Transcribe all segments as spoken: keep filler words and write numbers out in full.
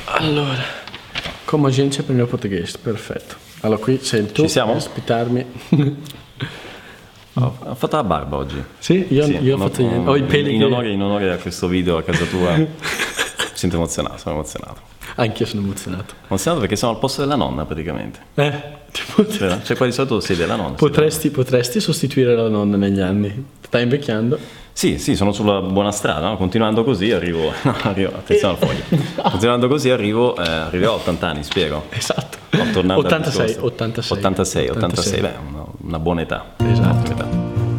Allora, come a gente aprende il portoghese, perfetto. Allora qui sei tu Ci siamo? a ospitarmi. Ho, ho fatto la barba oggi. Sì, io, Sì, io ho no, fatto niente. Ho i peli in, che... onore, in onore a questo video a casa tua. Mi sento emozionato, sono emozionato. Anch'io sono emozionato. Emozionato perché sono al posto della nonna praticamente. Eh, tipo... Cioè, cioè qua di solito siede la nonna. Potresti, potresti sostituire la nonna negli anni. Stai invecchiando? Sì, sì, sono sulla buona strada, no? Continuando così arrivo, no, arrivo, attenzione al foglio. Continuando così arrivo, eh, arriverò a ottanta anni, spiego. Esatto. ottantasei, ottantasei, ottantasei, ottantasei, beh, una, una buona età. Esatto. Età.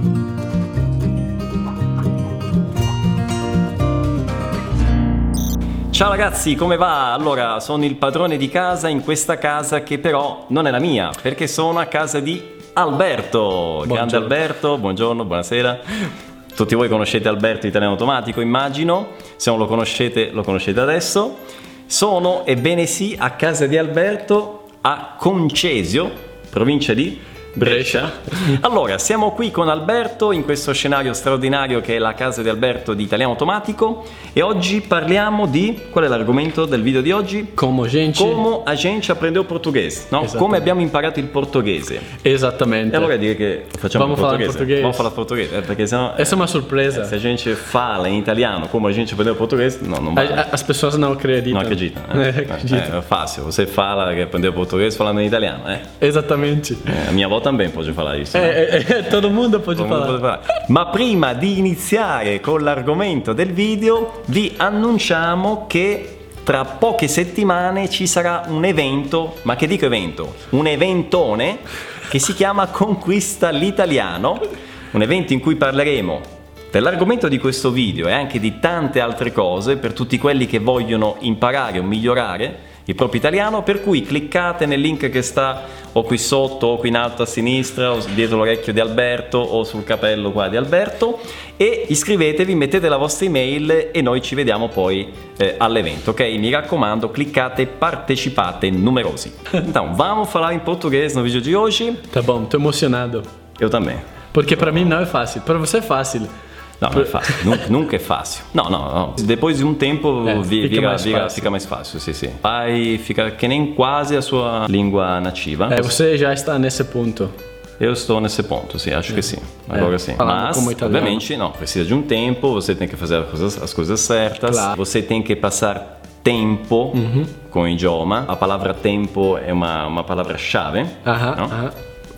Ciao ragazzi, come va? Allora, sono il padrone di casa in questa casa che però non è la mia, perché sono a casa di Alberto. Buongiorno. Grande Alberto, buongiorno, buonasera. Tutti voi conoscete Alberto Italiano Automatico, immagino. Se non lo conoscete, lo conoscete adesso. Sono, ebbene sì, a casa di Alberto a Concesio, provincia di Brescia. Allora, siamo qui con Alberto in questo scenario straordinario che è la casa di Alberto di Italiano Automatico e oggi parliamo di... qual è l'argomento del video di oggi? Come a gente... Come a gente aprendeu portoghese, no? Come abbiamo imparato il portoghese. Esattamente. E allora direi che facciamo Vamos il falar portoghese. português. Vamos falar portoghese, eh, perché sennò... Essa é uma surpresa. eh, se a gente fala in italiano come a gente aprendeu portoghese, não, não vai. As pessoas não acreditam. Não acreditam. É, É, acreditam. é, é fácil, você fala que aprendeu português falando em italiano, é. Esattamente. É, a minha avó também pode falar isso. É, né? é, é, todo mundo pode Todo mundo falar. pode falar. Ma prima di iniziare con l'argomento del video, vi annunciamo che tra poche settimane ci sarà un evento, ma che dico evento? Un eventone che si chiama Conquista l'Italiano, un evento in cui parleremo dell'argomento di questo video e anche di tante altre cose per tutti quelli che vogliono imparare o migliorare il proprio italiano, per cui cliccate nel link che sta o qui sotto o qui in alto a sinistra o dietro l'orecchio di Alberto o sul capello qua di Alberto e iscrivetevi, mettete la vostra email e noi ci vediamo poi eh, all'evento, ok? Mi raccomando, cliccate, partecipate numerosi. Então, vamos falar em português no vídeo de hoje. Tá bom, tô emocionado. Eu também. Porque pra mim não é fácil. Pra você é fácil. No, non è facile, nunca, nunca è facile. No, no, no. Depois di un tempo eh, vi, fica, vira, mais vira, fácil. fica mais fácil, sì, sì. Vai, fica che nem quasi a sua língua nativa. É, você já está nesse ponto. Eu estou nesse ponto, sim, acho é. que sim. Agora é. sim. Falando Mas, como italiano. obviamente, não, precisa de um tempo, você tem que fazer as coisas, as coisas certas, claro. Você tem que passar tempo uhum. com o idioma. A palavra tempo é uma, uma palavra-chave. Aham, no? aham.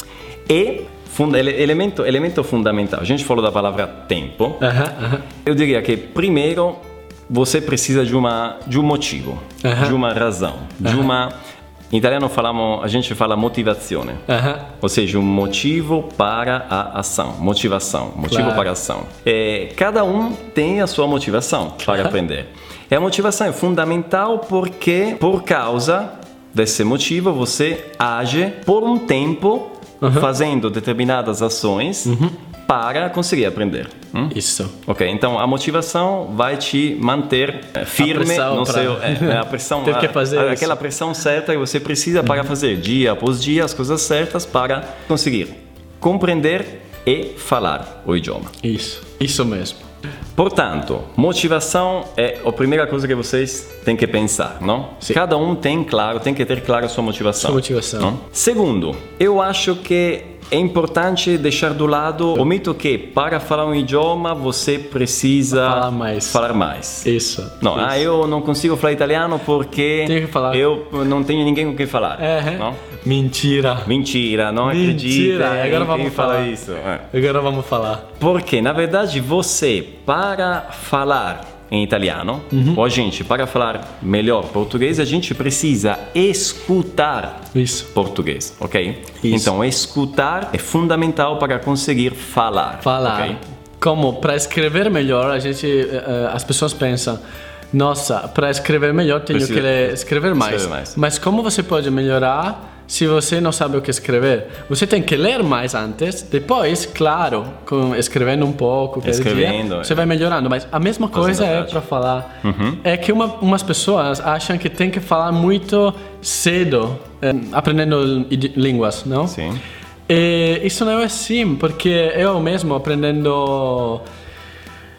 E funda, elemento, elemento fundamental, a gente falou da palavra tempo. Aham, aham. Eu diria que primeiro você precisa de, uma, de um motivo, aham. de uma razão, de aham. uma... Em italiano falamos, a gente fala motivazione, aham. ou seja, um motivo para a ação, motivação, motivo claro. para a ação. É, cada um tem a sua motivação para claro. aprender. E a motivação é fundamental porque, por causa desse motivo, você age por um tempo uhum. fazendo determinadas ações uhum. para conseguir aprender. Hum? Isso. Ok, então a motivação vai te manter é, firme no pra... seu... É, a pressão, Teve que fazer a, isso. aquela pressão certa que você precisa para fazer dia após dia as coisas certas para conseguir compreender e falar o idioma. Isso, isso mesmo. Portanto, motivação é a primeira coisa que vocês têm que pensar, não? Sim. Cada um tem claro, tem que ter claro a sua motivação. Sua motivação. Não? Segundo, eu acho que é importante deixar do lado o mito que para falar um idioma você precisa falar mais. Falar mais. Isso. Não, isso. ah, eu não consigo falar italiano porque Tenho que falar. eu não tenho ninguém com quem falar. É, não? Mentira. Mentira, não Mentira. acredita. Agora vamos quem fala falar isso. É. Agora vamos falar. Porque, na verdade, você, para falar em italiano, uhum. ou a gente, para falar melhor português, a gente precisa escutar isso. português, ok? Isso. Então, escutar é fundamental para conseguir falar. Falar. Okay? Como para escrever melhor, a gente, uh, as pessoas pensam, nossa, para escrever melhor tenho Precisa, que escrever mais. escrever mais. Mas como você pode melhorar se você não sabe o que escrever? Você tem que ler mais antes, depois, claro, com, escrevendo um pouco, escrevendo, dia, você vai melhorando. Mas a mesma coisa é para falar. Uhum. É que uma, umas pessoas acham que tem que falar muito cedo, eh, aprendendo línguas, não? Sim. E isso não é assim, porque eu mesmo aprendendo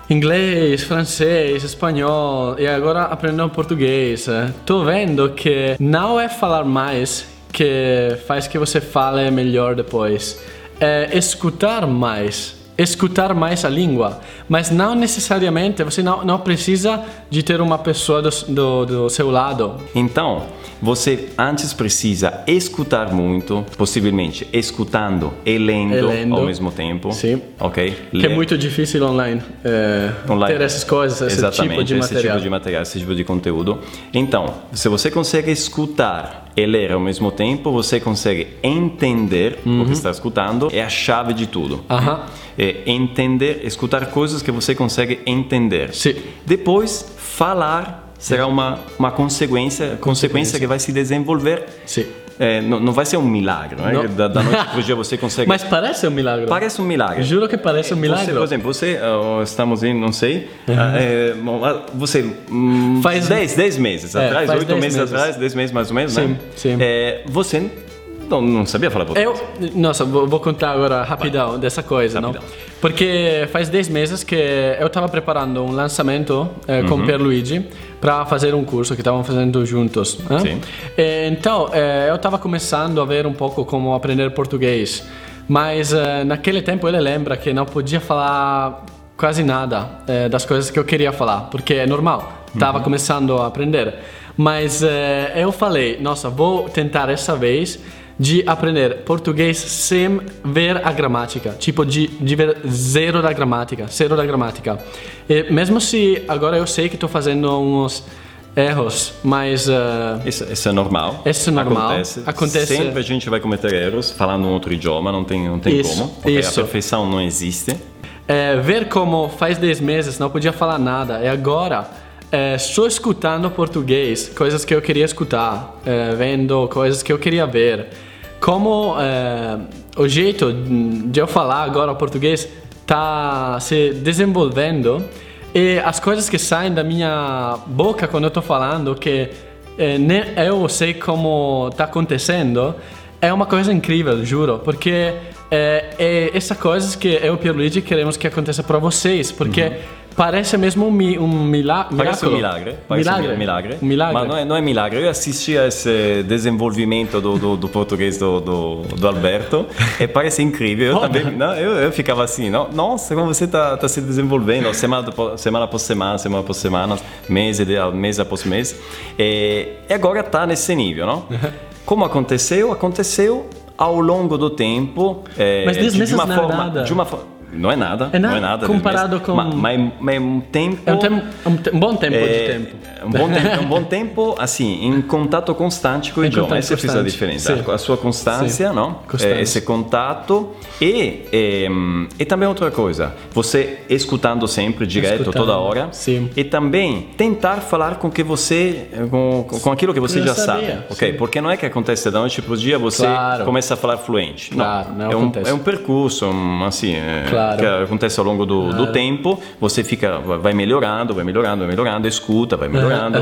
inglês, francês, espanhol e agora aprendendo português. Tô vendo que não é falar mais que faz que você fale melhor depois. É escutar mais. Escutar mais a língua, mas não necessariamente, você não, não precisa de ter uma pessoa do, do, do seu lado. Então, você antes precisa escutar muito, possivelmente escutando e lendo, E lendo. ao mesmo tempo. Sim. Ok? Que Le- é muito difícil online, é, Online. ter essas coisas, esse Exatamente, tipo de esse material. tipo de material, esse tipo de conteúdo. Então, se você consegue escutar e ler ao mesmo tempo, você consegue entender o que está escutando, é a chave de tudo. Aham. É entender, escutar coisas que você consegue entender. Sim. Depois, falar será uma, uma consequência, consequência que vai se desenvolver. Sim. É, não, não vai ser um milagre, não é? Não. Da, da noite para o dia você consegue... Mas parece um milagre. Parece um milagre. Juro que parece um milagre. Você, por exemplo, você, uh, estamos em, não sei, uh, é, bom, uh, você, um, Faz- dez, dez meses É, atrás, faz oito dez meses, meses. atrás, dez meses mais ou menos, Sim, né? sim. É, você não, não sabia falar português. Eu, nossa, vou, vou contar agora rapidão dessa coisa, Rapidão. não? Porque faz dez meses que eu estava preparando um lançamento eh, com Pierluigi para fazer um curso que estavam fazendo juntos. Né? Sim. E, então, eh, eu estava começando a ver um pouco como aprender português, mas eh, naquele tempo ele lembra que não podia falar quase nada eh, das coisas que eu queria falar, porque é normal, estava começando a aprender. Mas eh, eu falei, nossa, vou tentar essa vez de aprender português sem ver a gramática, tipo de, de ver zero da gramática, zero da gramática. E mesmo se agora eu sei que estou fazendo uns erros, mas uh, Isso, isso é normal. Isso é normal. Acontece. Acontece. Sempre a gente vai cometer erros falando um outro idioma, não tem, não tem Isso, como. Porque isso. a perfeição não existe. é, ver como faz dez meses não podia falar nada e agora é, só escutando português, coisas que eu queria escutar, é, vendo coisas que eu queria ver. Como é, o jeito de eu falar agora o português está se desenvolvendo e as coisas que saem da minha boca quando eu estou falando, que é, nem eu sei como está acontecendo, é uma coisa incrível, juro, porque é, é essa coisa que eu e o Pierluigi queremos que aconteça para vocês, porque uhum. parece mesmo um, mi, um mila, Parece um miracolo. milagre. Parece milagre. um milagre. Um milagre. Mas não é, não é milagre. Eu assisti a esse desenvolvimento do, do, do português do, do, do Alberto e parece incrível. Eu também, não, eu, eu ficava assim, não, nossa, como você está tá se desenvolvendo semana, semana após semana, semana após semana, mês, mês após mês. E, e agora está nesse nível, não? Como aconteceu? Aconteceu ao longo do tempo. É, Mas dez de, meses de uma não é forma, nada. de uma forma Não é nada, É nada não é nada. comparado mas, com- Mas, mas, mas é um tempo... É um, tem, um, te- um bom tempo de é, tempo. é um bom tempo, é um bom tempo, assim, em contato constante com o Em idioma. contato Essa fez a constante, diferença. sim. A sua constância, Sim. não? Constância. É, esse contato e, e, e também outra coisa, você escutando sempre, direto, Escutando, toda hora. sim. E também tentar falar com que você, com, com aquilo que você Eu já sabia, sabe, ok? sim. Porque não é que acontece da noite para o dia você Claro. começa a falar fluente. Claro, não é um, acontece. é um percurso, um, assim, é, Claro. que acontece ao longo do, do tempo, você fica, vai melhorando, vai melhorando, vai melhorando, escuta, vai melhorando.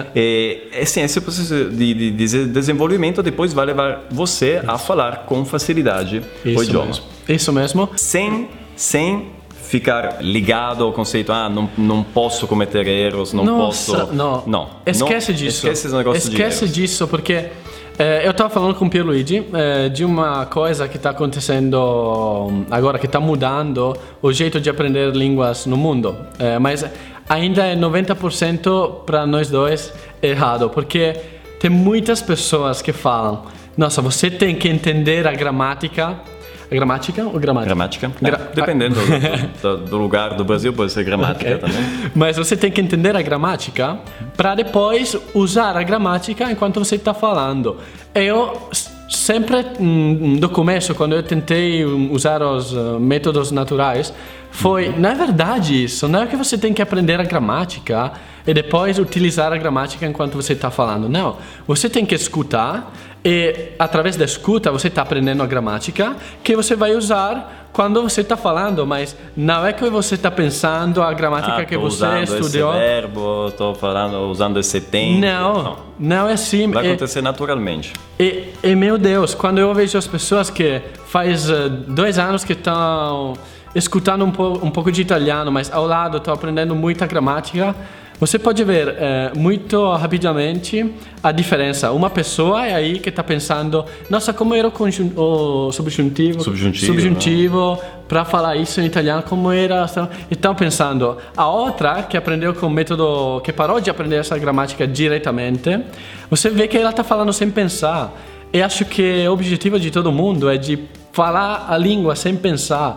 e, assim, esse processo de, de, de desenvolvimento depois vai levar você a falar com facilidade o Isso idioma. mesmo. Isso mesmo. Sem, sem ficar ligado ao conceito, ah, não, não posso cometer erros, não Nossa, posso... não. não. Esquece não, disso. Esquece esse negócio Esquece de erros. disso, porque eh, eu estava falando com o Pierluigi eh, de uma coisa que está acontecendo agora, que está mudando o jeito de aprender línguas no mundo. Eh, mas ainda é noventa por cento para nós dois errado, porque tem muitas pessoas que falam, nossa, você tem que entender a gramática. A gramática ou gramática? Gramática? Gra- É, dependendo do, do, do lugar do Brasil, pode ser gramática Ok. também. Mas você tem que entender a gramática para depois usar a gramática enquanto você está falando. Eu s- sempre, hum, do começo, quando eu tentei hum, usar os uh, métodos naturais, foi, não é verdade isso, não é que você tem que aprender a gramática e depois utilizar a gramática enquanto você está falando. Não, você tem que escutar e através da escuta você está aprendendo a gramática que você vai usar quando você está falando, mas não é que você está pensando a gramática Ah, que tô você usando estudou. esse verbo, estou falando, usando esse tempo. Não, não é assim. Vai E- acontecer naturalmente. E, e meu Deus, quando eu vejo as pessoas que faz uh, dois anos que estão escutando um, po- um pouco de italiano, mas ao lado estou aprendendo muita gramática, você pode ver eh, muito rapidamente a diferença. Uma pessoa é aí que está pensando, nossa, como era o, conjun- o subjuntivo, Subjuntivo, subjuntivo para falar isso em italiano, como era. E estão pensando. A outra que aprendeu com o método, que parou de aprender essa gramática diretamente, você vê que ela está falando sem pensar. E acho que o objetivo de todo mundo é de falar a língua sem pensar.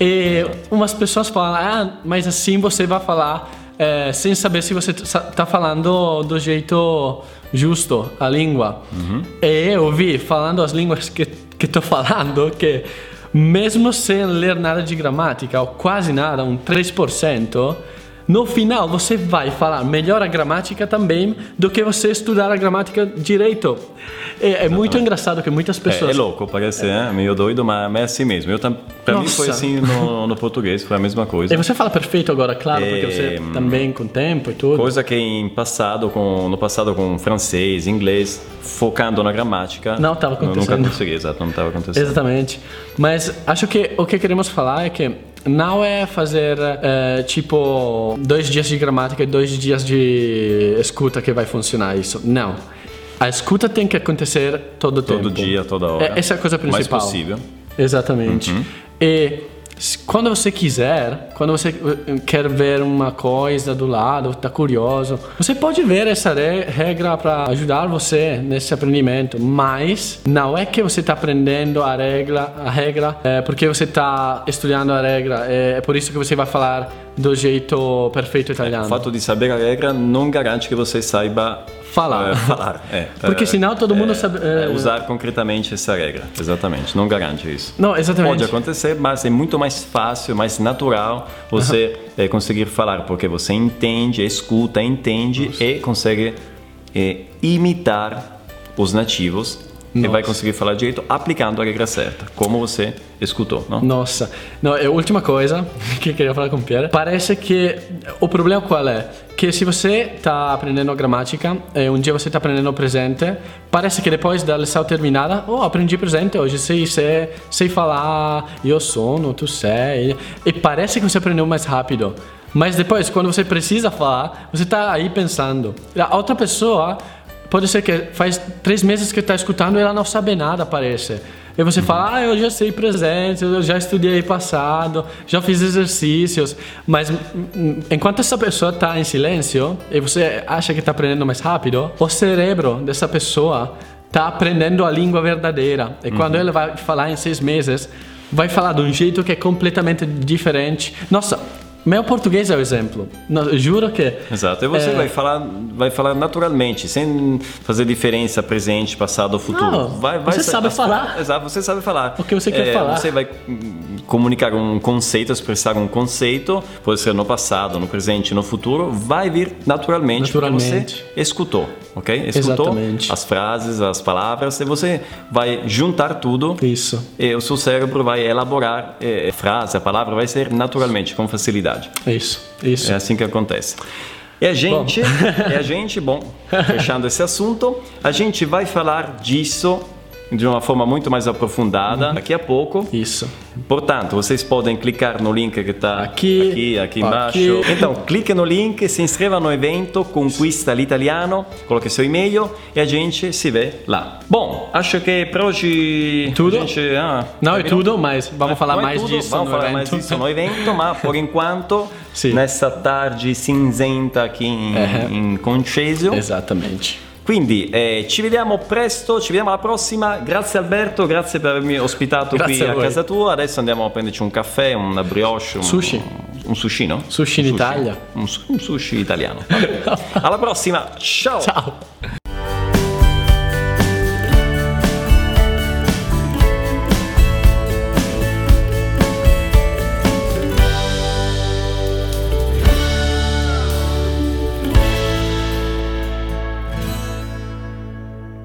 E umas pessoas falam, ah, mas assim você vai falar é, sem saber se você está falando do jeito justo a língua. Uhum. E eu vi, falando as línguas que estou falando, que mesmo sem ler nada de gramática, ou quase nada, um três por cento, no final você vai falar melhor a gramática também do que você estudar a gramática direito. É, é muito engraçado que muitas pessoas... É, é louco, parece é. É, meio doido, mas é assim mesmo. Eu, pra mim foi assim no, no português, foi a mesma coisa. E você fala perfeito agora, claro, é, porque você também com tempo e tudo. Coisa que em passado, com, no passado com francês, inglês, focando na gramática... Não estava acontecendo. Nunca consegui, exato, não estava acontecendo. Exatamente. Mas acho que o que queremos falar é que não é fazer é, tipo dois dias de gramática e dois dias de escuta que vai funcionar isso. Não. A escuta tem que acontecer todo o tempo. Todo dia, toda hora. É, essa é a coisa principal. Mais possível. Exatamente. Uhum. E quando você quiser, quando você quer ver uma coisa do lado, está curioso, você pode ver essa regra para ajudar você nesse aprendimento, mas não é que você está aprendendo a regra, a regra é porque você está estudando a regra, é por isso que você vai falar do jeito perfeito italiano. É, o fato de saber a regra não garante que você saiba falar. É, falar. É, porque senão todo mundo é, sabe... É, usar concretamente essa regra, exatamente, não garante isso. Não, exatamente. Pode acontecer, mas é muito mais fácil, mais natural você uhum. é, conseguir falar, porque você entende, escuta, entende Nossa. E consegue é, imitar os nativos. Nossa. E vai conseguir falar direito aplicando a regra certa, como você escutou, não? Nossa, não, a última coisa que eu queria falar com o Pierre, parece que o problema qual é? Que se você está aprendendo a gramática e um dia você está aprendendo o presente, parece que depois da lição terminada, oh, aprendi presente hoje, sei, sei, sei falar, eu sono, tu sei, e parece que você aprendeu mais rápido. Mas depois, quando você precisa falar, você está aí pensando. A outra pessoa... Pode ser que faz três meses que está escutando e ela não sabe nada, parece. E você fala, ah, eu já sei presente, eu já estudei passado, já fiz exercícios. Mas enquanto essa pessoa está em silêncio e você acha que está aprendendo mais rápido, o cérebro dessa pessoa está aprendendo a língua verdadeira. E quando uhum. ele vai falar em seis meses, vai falar de um jeito que é completamente diferente. Nossa... Meu português é o exemplo. Eu juro que... Exato. E você é... vai falar, vai falar naturalmente, sem fazer diferença presente, passado, futuro. Não, vai, vai você ser, sabe as, falar. Exato, você sabe falar. O que você quer é, falar. Você vai comunicar um conceito, expressar um conceito, pode ser no passado, no presente, no futuro, vai vir naturalmente, naturalmente. Porque você escutou, ok? Escutou Exatamente. As frases, as palavras, e você vai juntar tudo. Isso. E o seu cérebro vai elaborar a frase, a palavra vai ser naturalmente, com facilidade. Isso, isso. É assim que acontece. E a gente, e a gente, bom, fechando esse assunto, a gente vai falar disso de uma forma muito mais aprofundada uhum. daqui a pouco. Isso. Portanto, vocês podem clicar no link que está aqui, aqui, aqui embaixo. Aqui. Então, clique no link, se inscreva no evento, conquista l'italiano, coloque seu e-mail e a gente se vê lá. Bom, acho que per oggi... Tudo? Gente, ah, Não é tudo, mas vamos eh, falar não mais é tudo, disso vamos no falar evento. mais disso no evento, mas por enquanto, sì. nessa tarde cinzenta aqui em, eh. in Concesio. Esattamente. Quindi eh, ci vediamo presto, ci vediamo alla prossima. Grazie Alberto, grazie per avermi ospitato grazie qui a, a casa tua. Adesso andiamo a prenderci un caffè, una brioche, un sushi. Un sushi, no? Sushi in un sushi. Italia. Un, un sushi italiano. Alla prossima, ciao! Ciao!